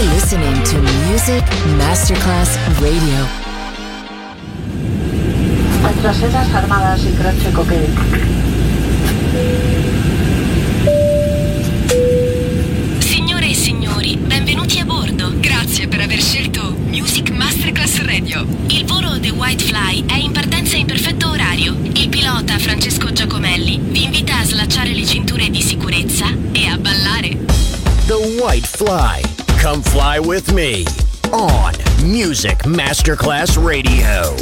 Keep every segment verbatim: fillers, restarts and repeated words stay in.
You're listening to Music Masterclass Radio. Nuestras sedas armadas y croce coquet. Signore e signori, benvenuti a bordo. Grazie per aver scelto Music Masterclass Radio. Il volo The White Fly è in partenza in perfetto orario. Il pilota Francesco Giacomelli vi invita a slacciare le cinture di sicurezza e a ballare. The White Fly. Come fly with me on Music Masterclass Radio.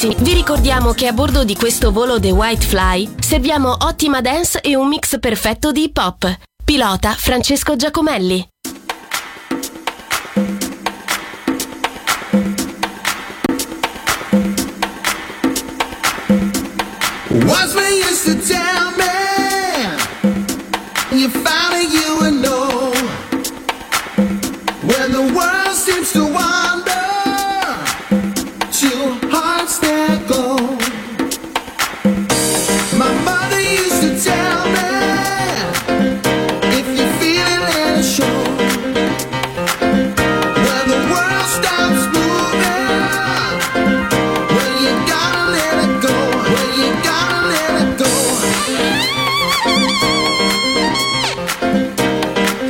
ragazzi, vi ricordiamo che a bordo di questo volo The White Fly serviamo ottima dance e un mix perfetto di hip hop. Pilota Francesco Giacomelli. Once we used to tell me you found a you and know when the world seems to wander, two hearts that go. My mother used to tell me if you feel it, let it show. When the world stops moving, well, you gotta let it go. Well, you gotta let it go.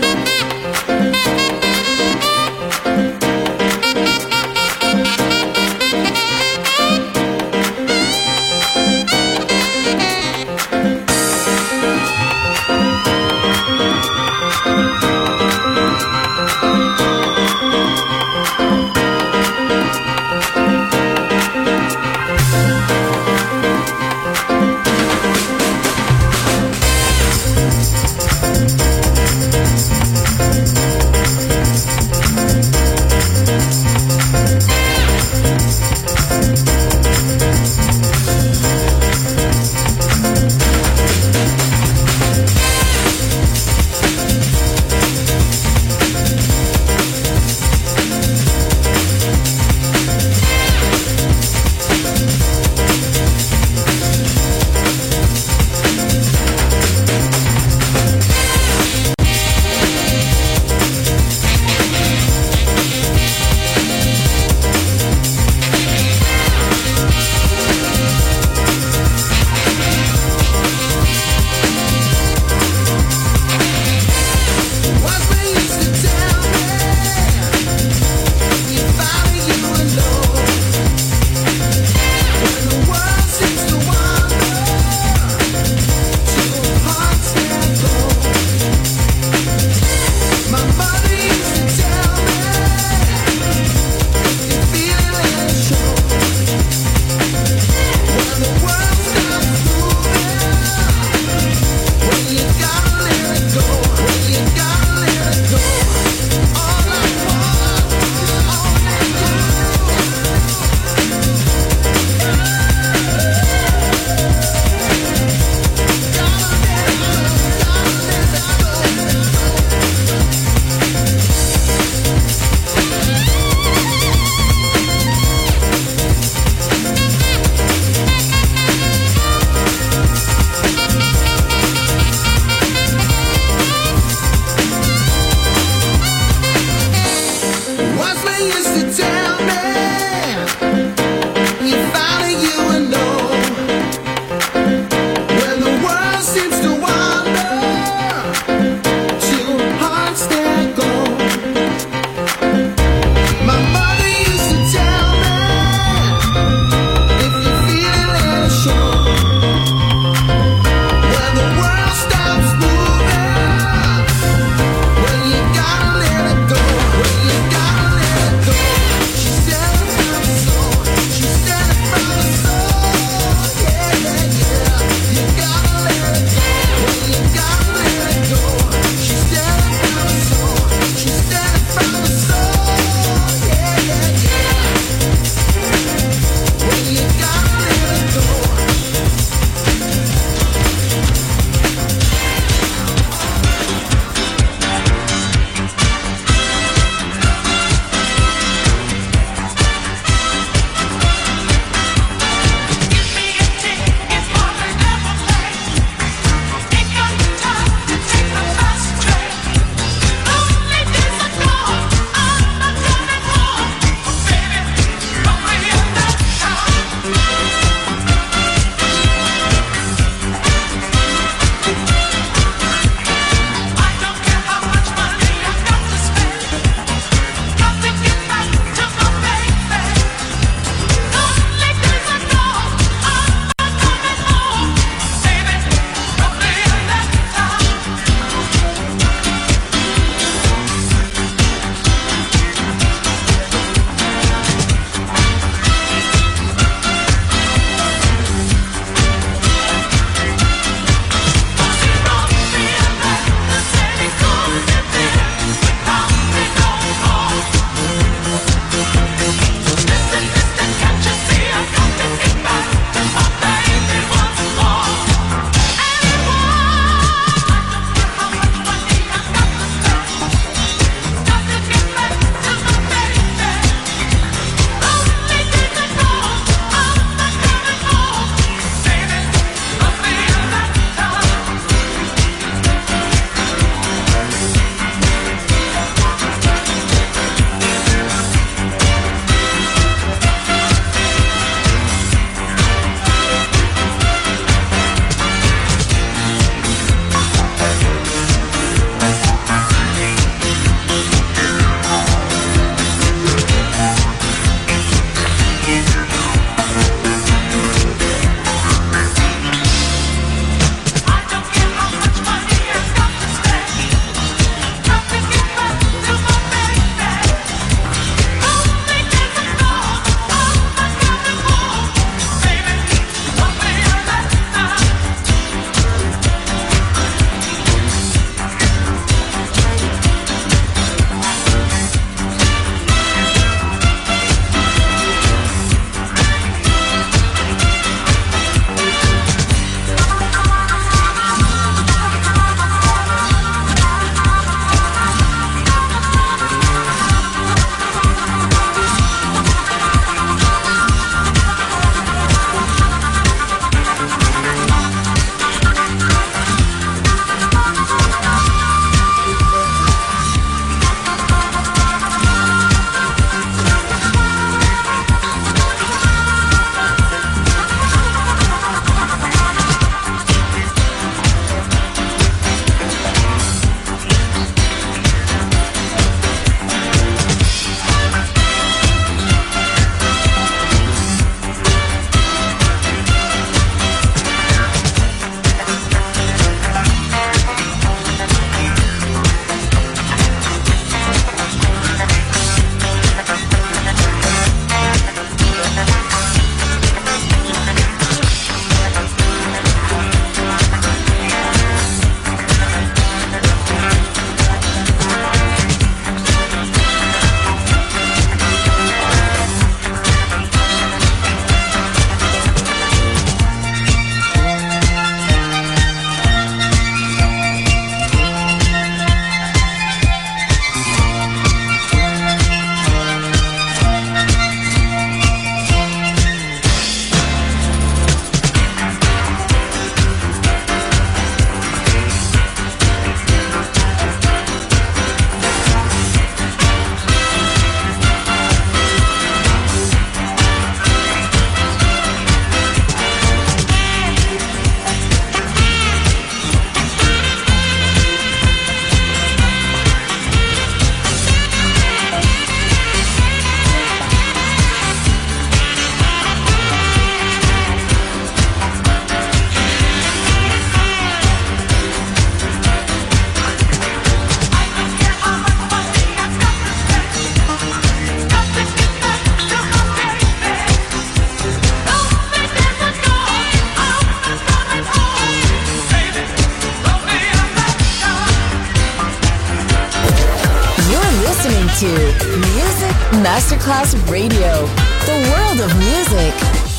to Music Masterclass Radio, the world of music.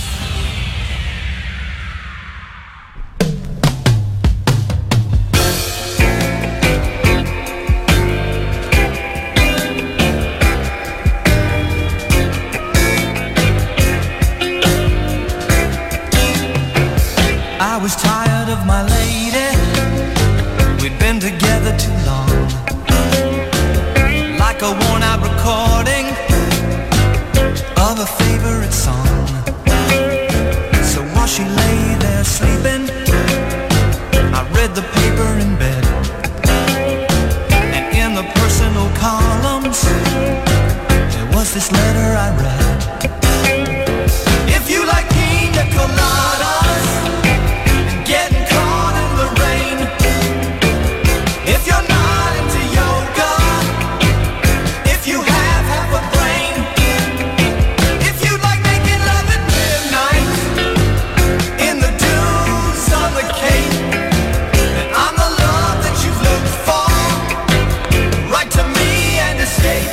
I was tired of my lady, we'd been together too long. Like a worn out recording of a favorite song. So while she lay there sleeping, I read the paper in bed. And in the personal columns, there was this letter I read. If you like pina coladas, getting caught in the rain, if you're not into yoga, if you have half a brain, if you like making love at midnight in the dunes on the Cape, then I'm the love that you've looked for. Write to me and escape.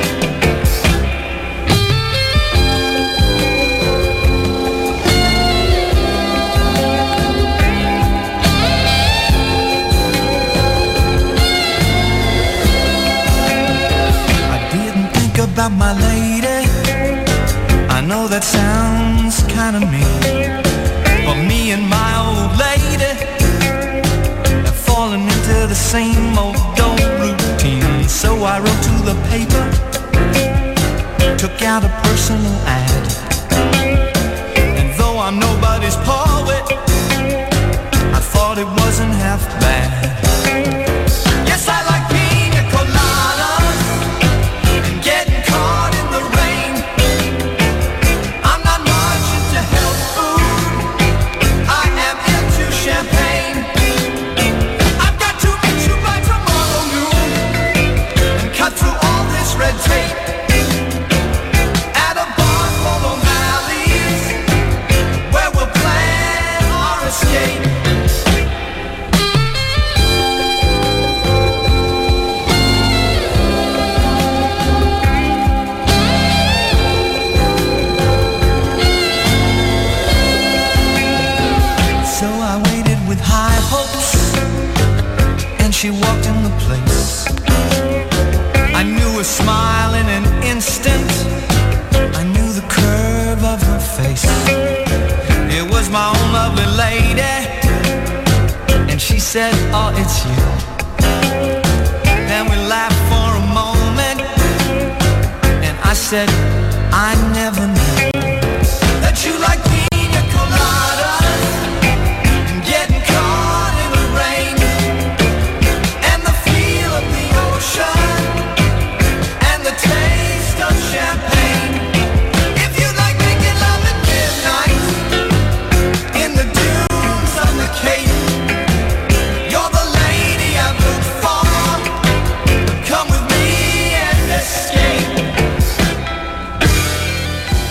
About my lady, I know that sounds kinda mean, but me and my old lady have fallen into the same old old routine. So I wrote to the paper, took out a personal ad, and though I'm nobody's poet, I thought it wasn't half bad. Yes, I like pina coladas and getting caught in the rain. I'm not much into health food, I am into champagne. I've got to meet you by tomorrow noon and cut through all this red tape at a bar for O'Malley's, where we'll plan our escape. She walked in the place. I knew a smile in an instant. I knew the curve of her face. It was my own lovely lady, and she said, oh, it's you. Then we laughed for a moment, and I said, I never knew that you like pina coladas and getting caught in the rain. And the taste of champagne. If you like making love at midnight in the dunes on the Cape, you're the lady I've looked for. Come with me and escape.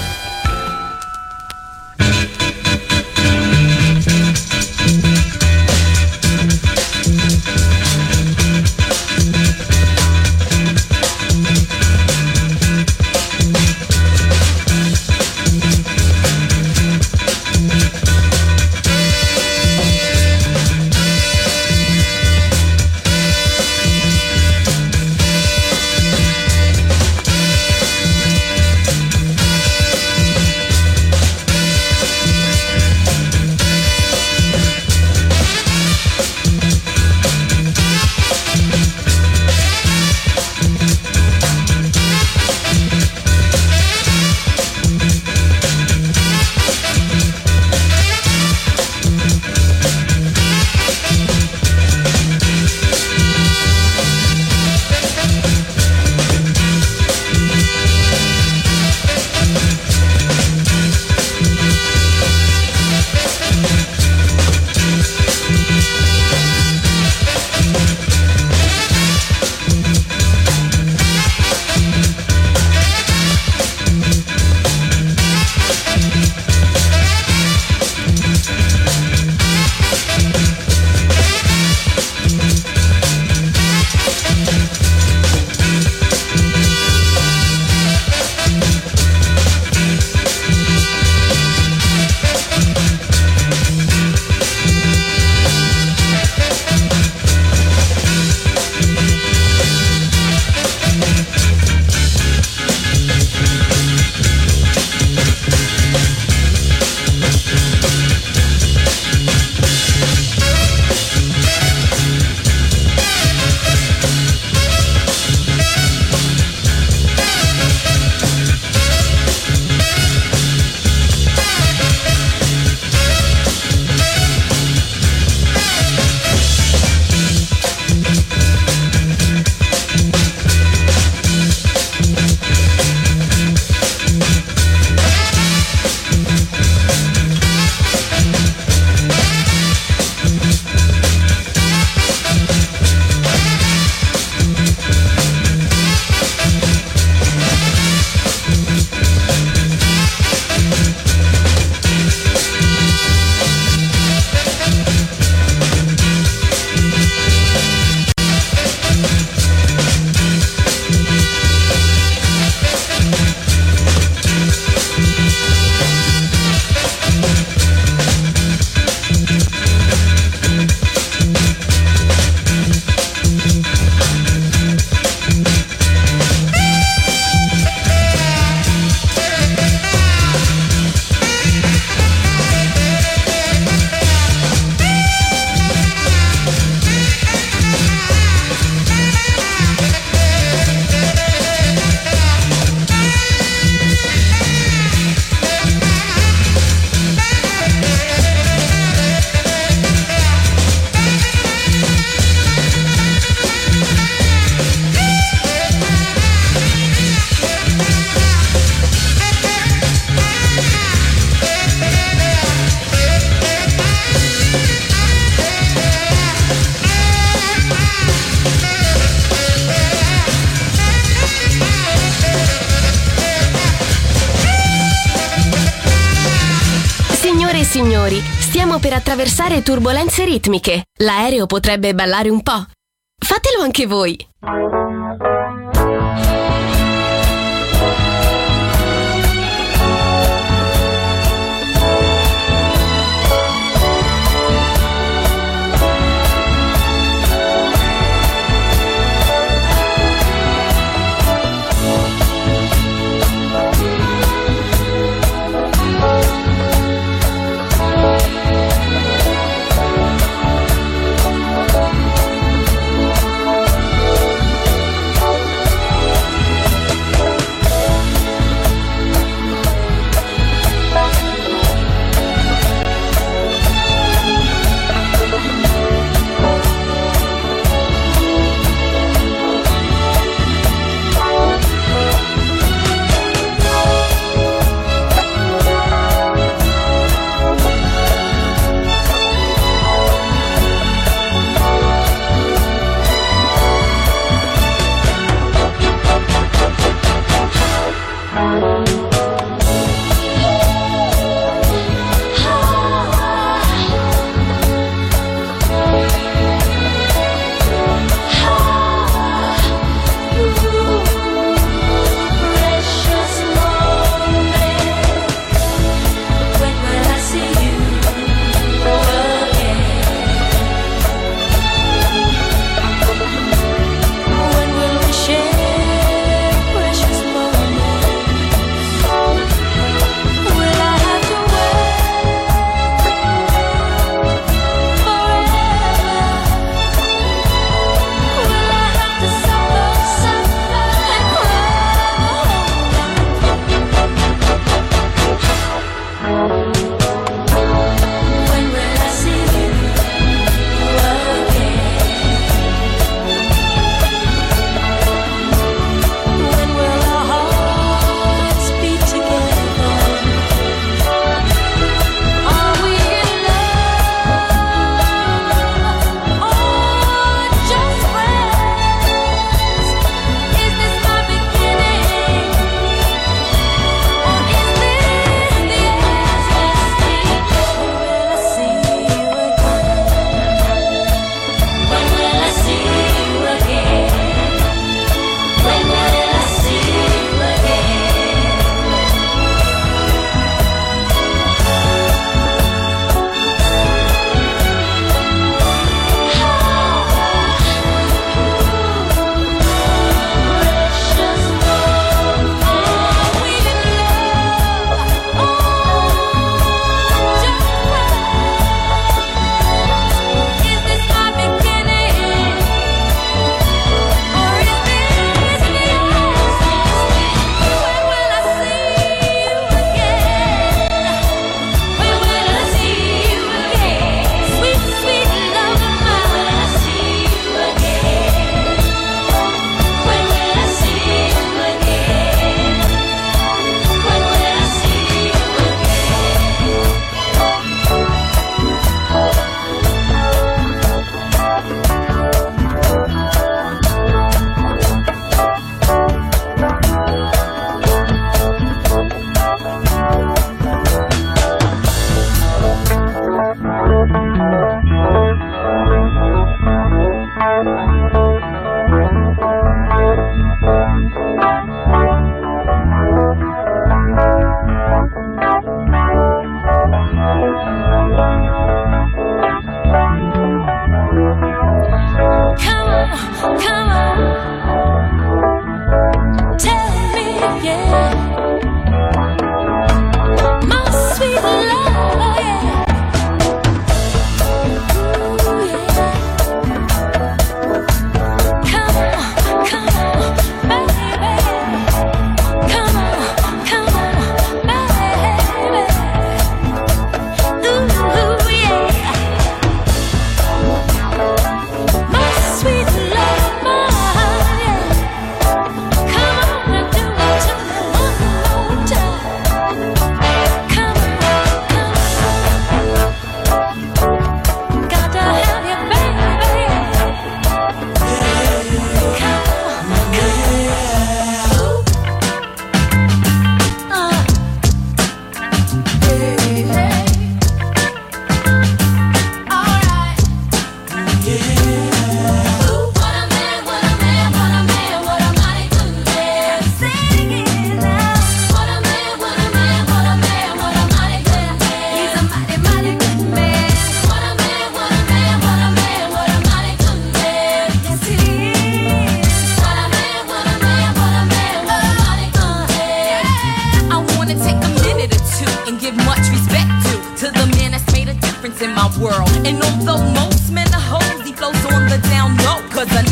Signore e signori, stiamo per attraversare turbolenze ritmiche. L'aereo potrebbe ballare un po'. Fatelo anche voi.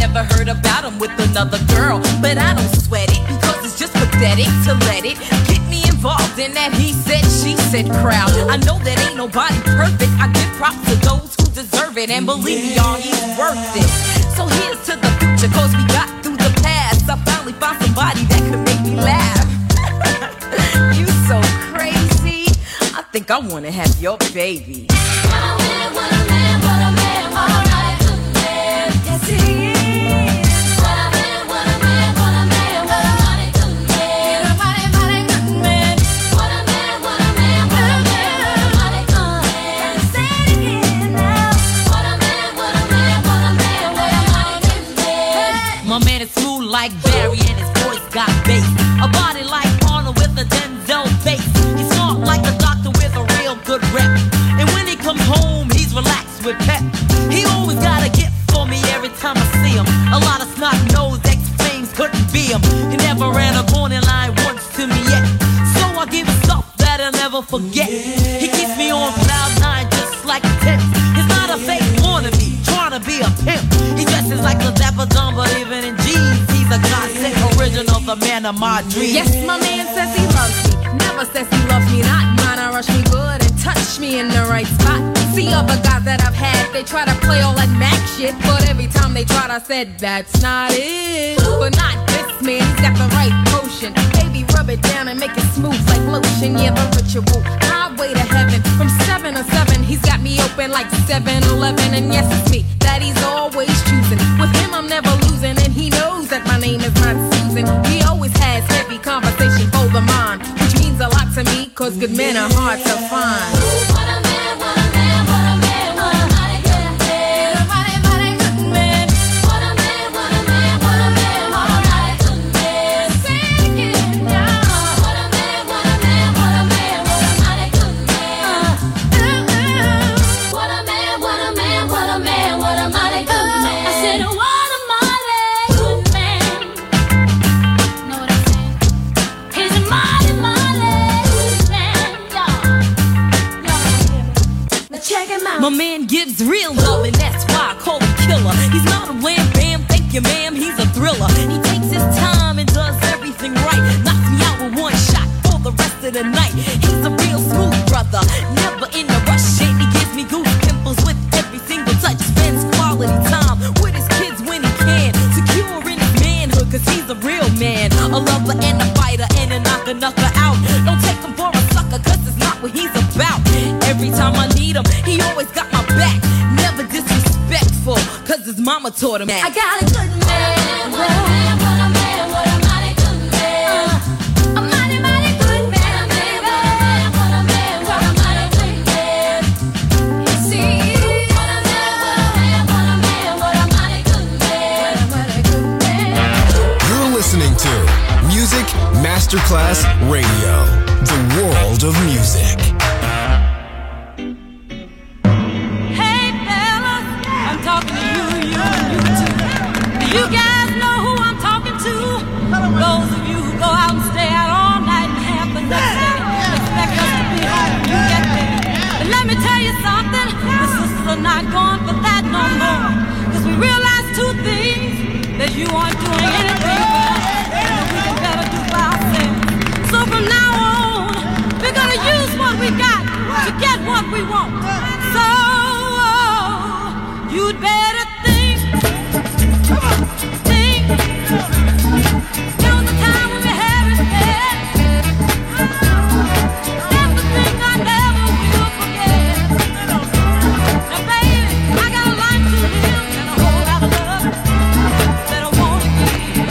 never heard about him with another girl, but I don't sweat it because it's just pathetic to let it get me involved in that he said, she said crowd. I know that ain't nobody perfect. I give props to those who deserve it, and believe me, y'all, he's worth it. So here's to the future, cause we got through the past. I finally found somebody that could make me laugh. You so crazy, I think I wanna have your baby. What a man, what a man, what a man, what a right good man. Yes he is. What a man, what a man, what a man, what a mighty good man. What a mighty, mighty good man. What a man, what a man, what a man, what a mighty good man. Say it again now. What a man, what a man, what a man, what a mighty good man. My man is smooth like Barry and his voice got bass. A body like Arnold with a Denzel face. He's smart like a doctor with a real good rep. And when he comes home, he's relaxed with pep. He always got a gift for me every time I see him. A lot of snot-nosed ex-flames couldn't be him. He never ran a corner line once to me yet. So I give him stuff that I'll never forget. He keeps me on cloud nine just like a tent. He's not a fake wannabe, trying to be a pimp. He dresses like a dapper dumb, but even in jeans, he's a godsend original, the man of my dreams. Yes, my man says he loves me. Never says he loves me not. Mine, I rush me good and touch me in the right spot. See other guys that I've had, they try to play all that Mac shit, but every time they tried, I said, that's not it. But not this man, he's got the right potion. Baby, rub it down and make it smooth like lotion. Yeah, the ritual, highway to heaven. From seven to seven, he's got me open like seven eleven. And yes, it's me that he's always choosing. With him, I'm never losing, and he knows that my name is not Susan. He always has heavy conversation for the mind, which means a lot to me, cause good men are hard to find. What a man, what a man, what a man, what a mighty good man. What a mighty, mighty good man. What a man, what a man, what a man, what a mighty good man. Say it again now. What a man, what a man, what a man, what a mighty good man. What a man, what a man, what a man, what a mighty good man. I said, what a mighty good man. Know what I'm saying? He's a mighty, mighty good man, y'all. Now check him out. My man gives real love, and that's why I call him killer. He's not a wham bam, thank you ma'am, he's a thriller. He takes his time and does everything right. Knocks me out with one shot for the rest of the night. He's a real smooth brother, never in a rush. And he gives me goose pimples with every single touch. Spends quality time with his kids when he can. Secure in his manhood, cause he's a real man. A lover and a fighter and a knocker, knocker out. Don't take him for a sucker, cause it's not what he's about. Every time I need him, he always got my back. Never disrespectful, cause his mama taught him that. I got a good man. What a man, what a man, what a mighty good man. Uh, a mighty, mighty good man, baby. What a man, what a mighty good man. Yes, he is. What a man, what a man, what a man, what a mighty good man. What a mighty good man. You're listening to Music Masterclass Radio, the world of music. Hey fellas, I'm talking to you, you, and you too. Do you guys know who I'm talking to? Those of you who go out and stay out all night and have the next day, expect us to be home when you get there. But let me tell you something, the sisters are not going for that no more. Cause we realize two things, that you aren't doing anything for us, and that we can better do for ourselves. So from now on, we're gonna use what we got to get what we want. So you'd better think, think. There was a time when we had it bad. That's the thing I never will forget. Now baby, I got a life to live and a whole lot of love that I wanna give.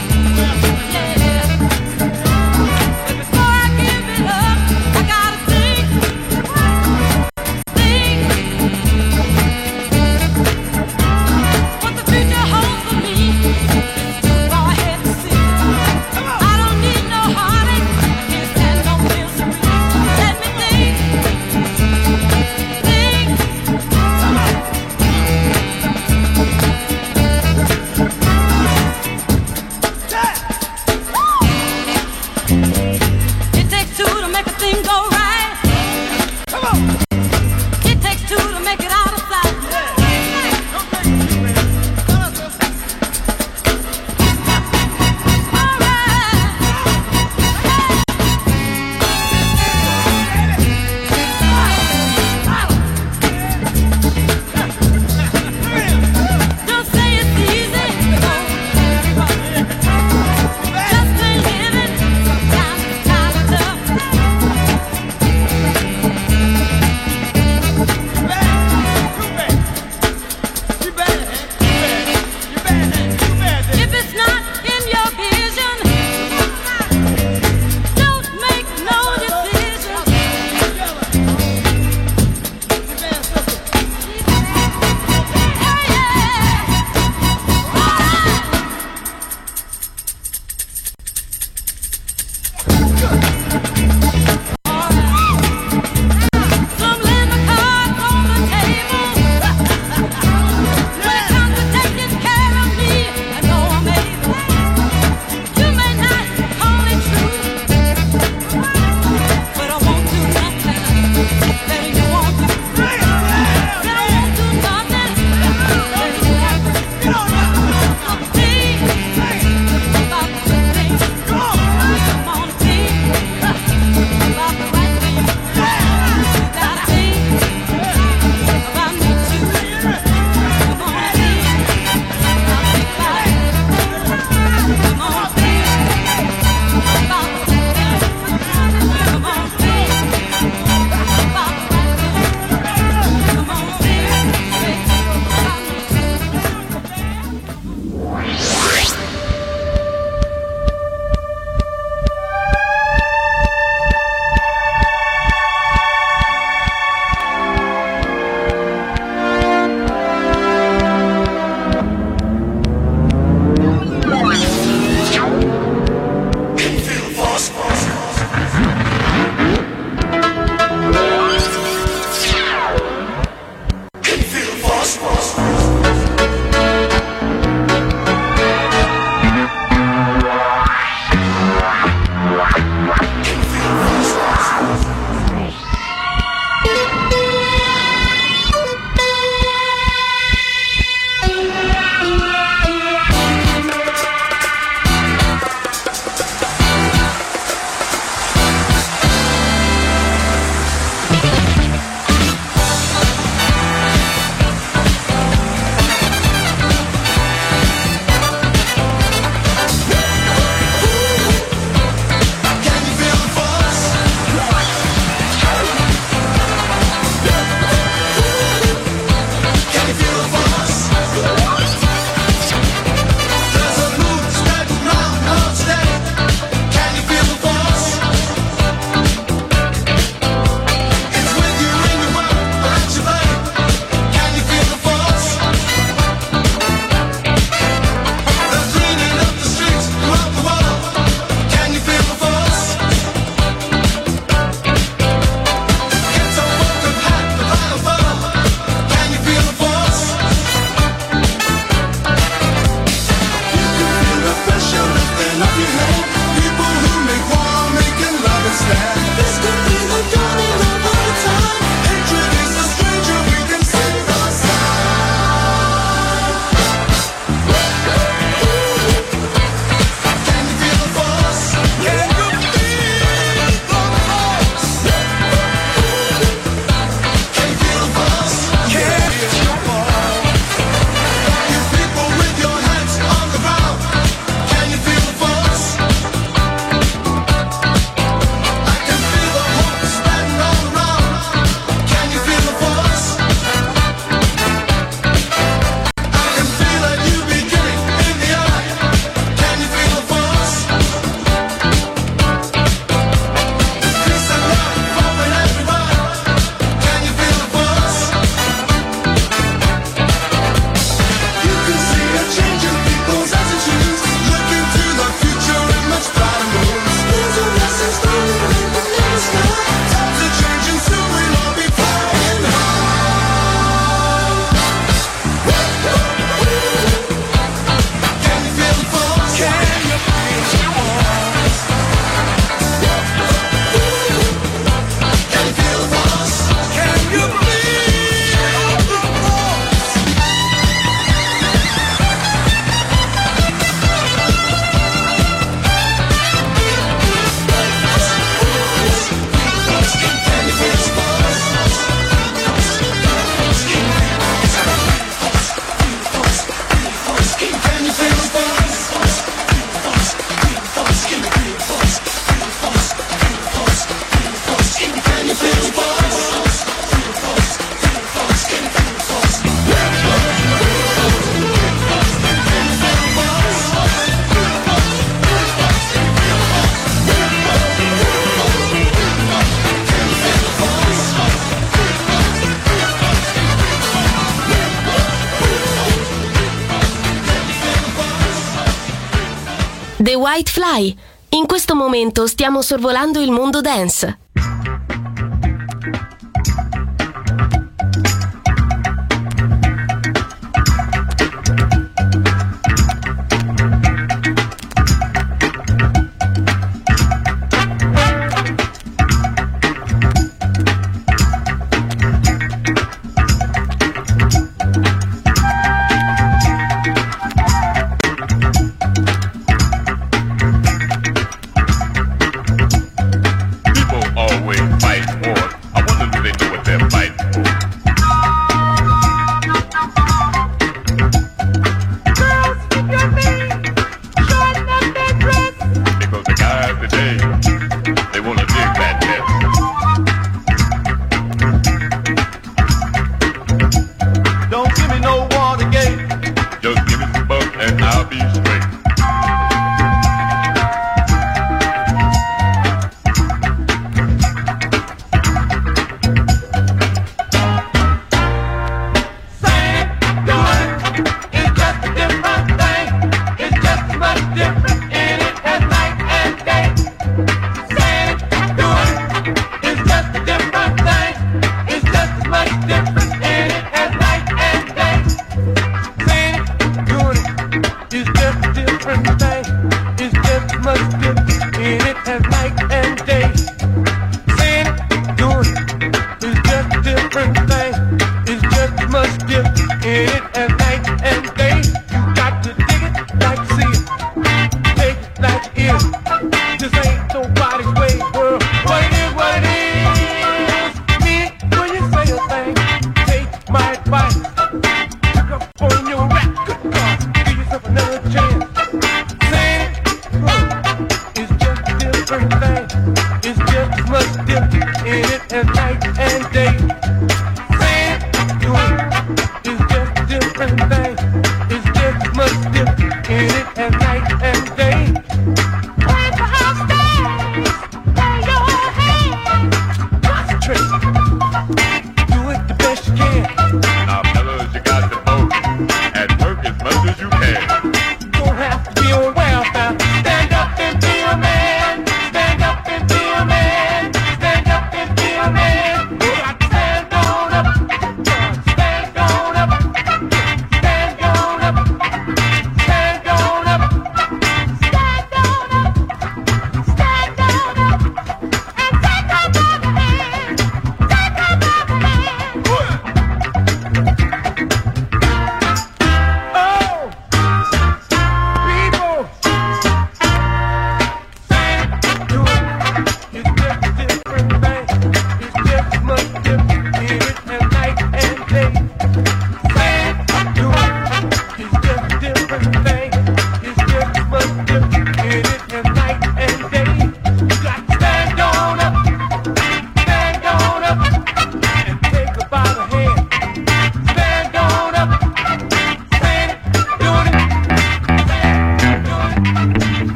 The White Fly. In questo momento stiamo sorvolando il mondo dance.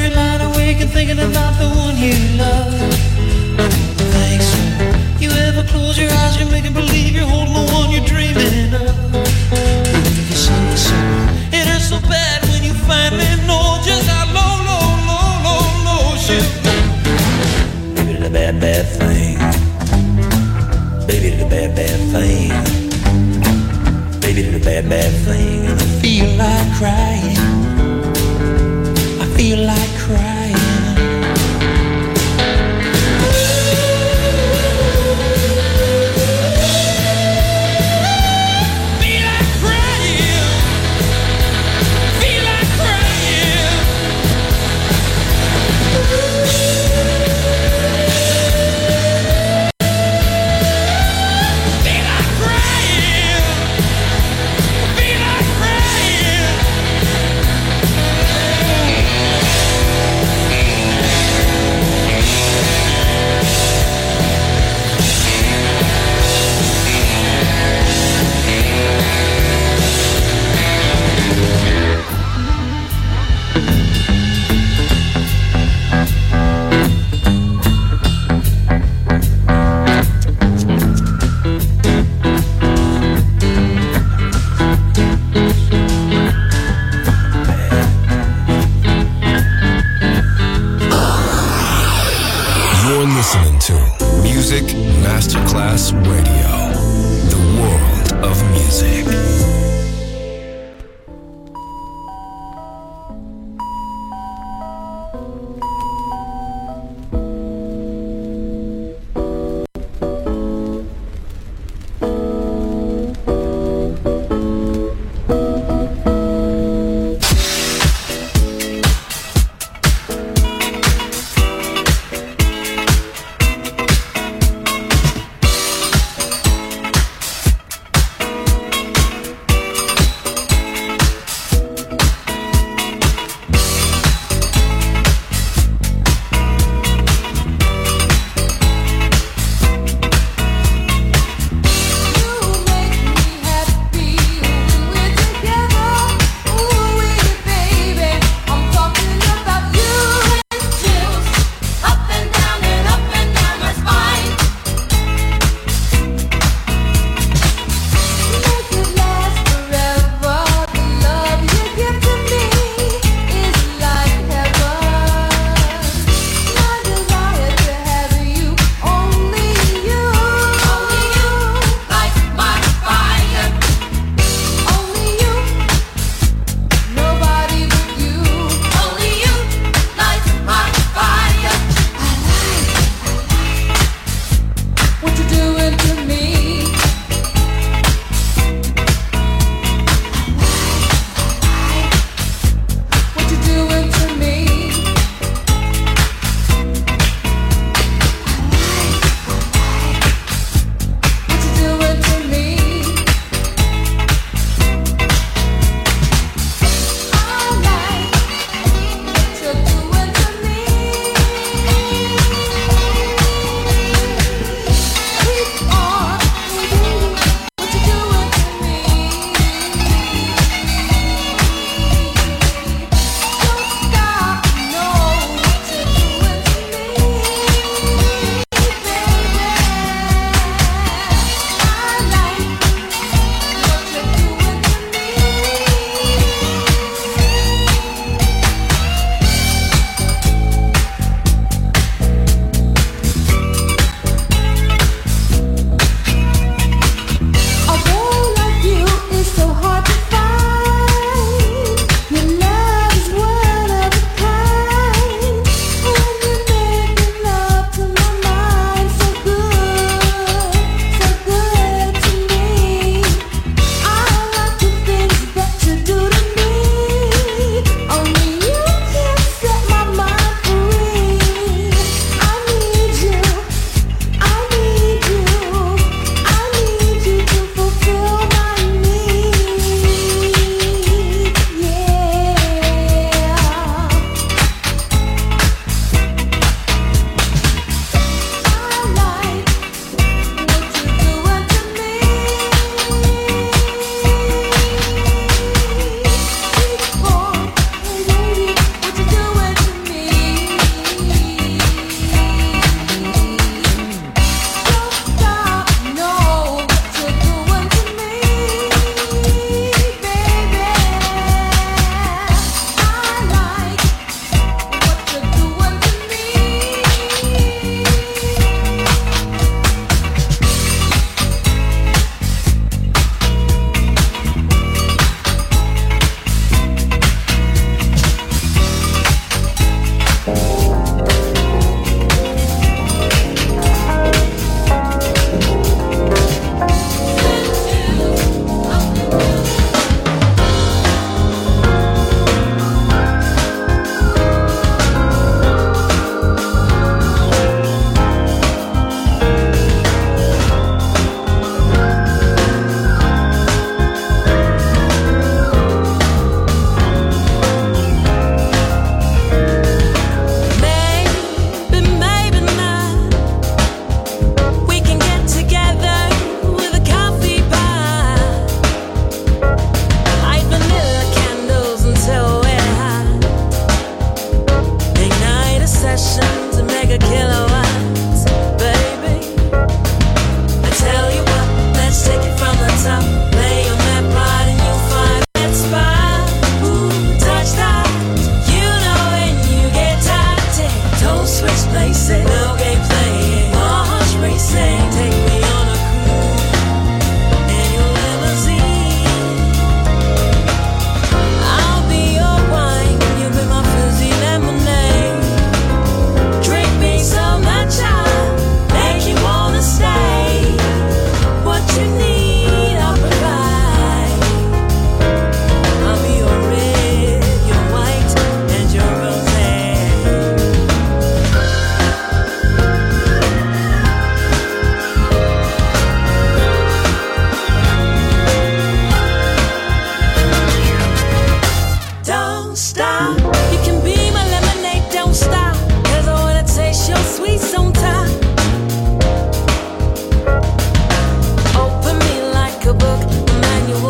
Thinking about the one you love. Thanks. You ever feeling a bad, bad thing, and I feel like crying. I feel like crying. Masterclass Radio, the world of music.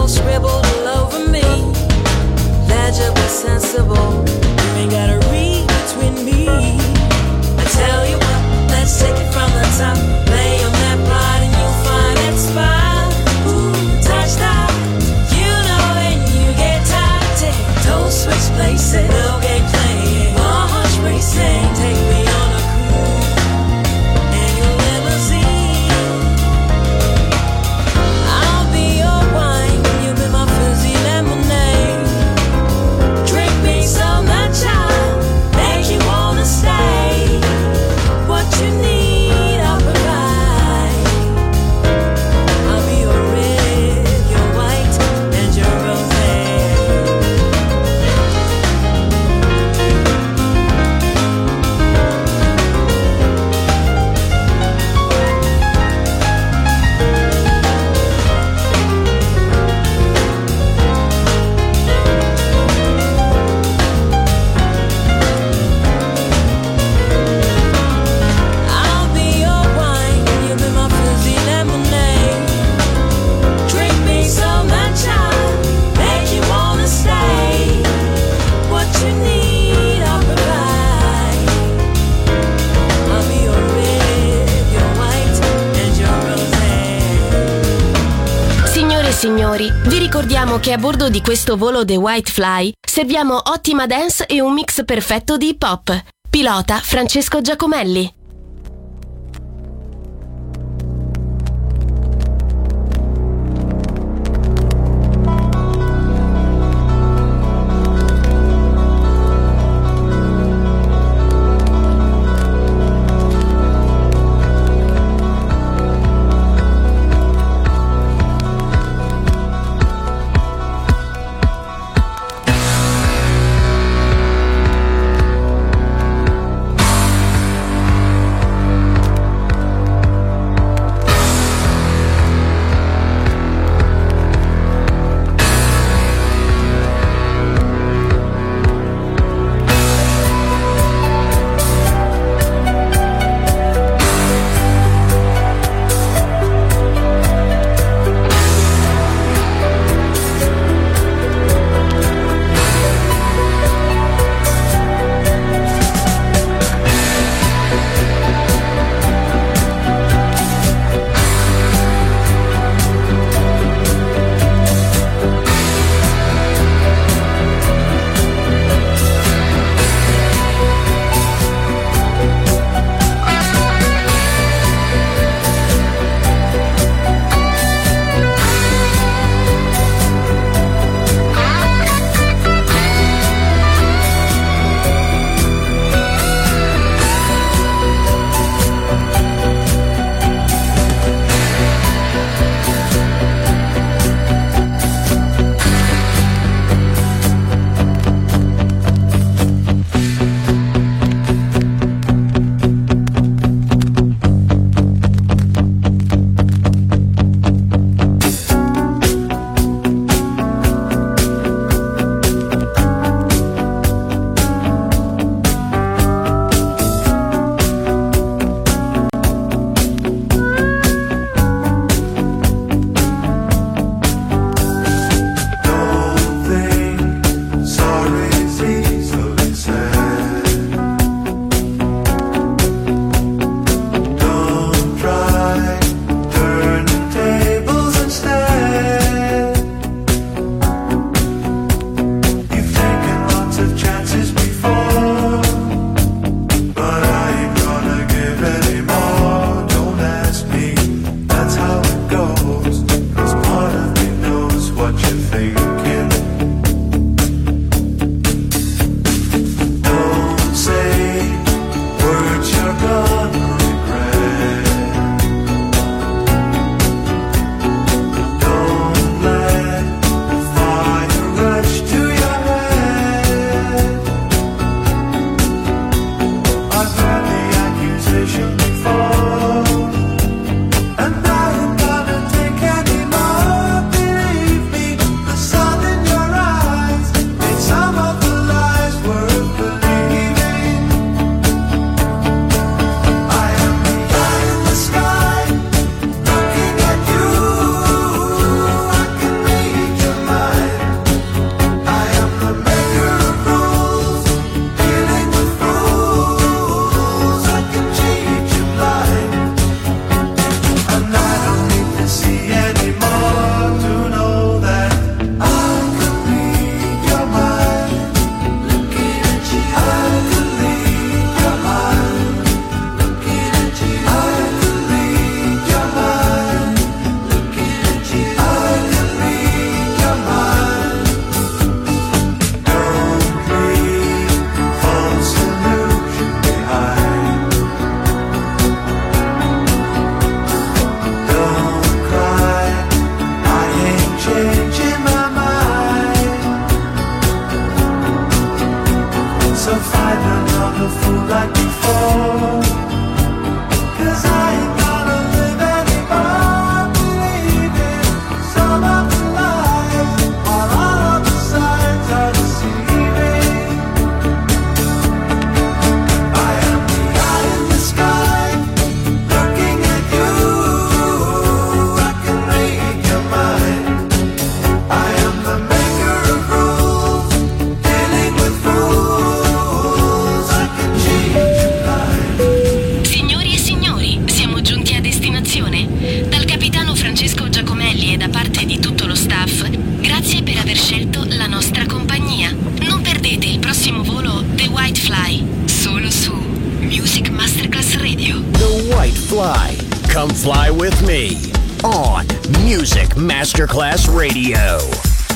scribbled all over me. Legibly sensible, you ain't gotta read between me. I tell you what, let's take it from the top. Lay on that plot and you'll find that spot. Ooh, touch that. You know when you get tired, don't switch places. No game playing, hearts racing. Take me on a cruise in your limousine. I'll be your wine, you be my fizzy lemonade. Drink me so much I'll make you wanna stay. What you need, I'll provide. I'll be your red, your white, and your rosé. I'll be your wine, you be my fizzy lemonade. Drink me so much I'll make you wanna stay. What you need, I'll provide. I'll be your red, your white, and your rosé. Signore e signori, vi ricordiamo che a bordo di questo volo The White Fly serviamo ottima dance e un mix perfetto di hip hop. Pilota Francesco Giacomelli. The sun scelto la nostra compagnia. Non perdete il prossimo volo The White Fly, solo su Music Masterclass Radio. The White Fly. Come fly with me on Music Masterclass Radio.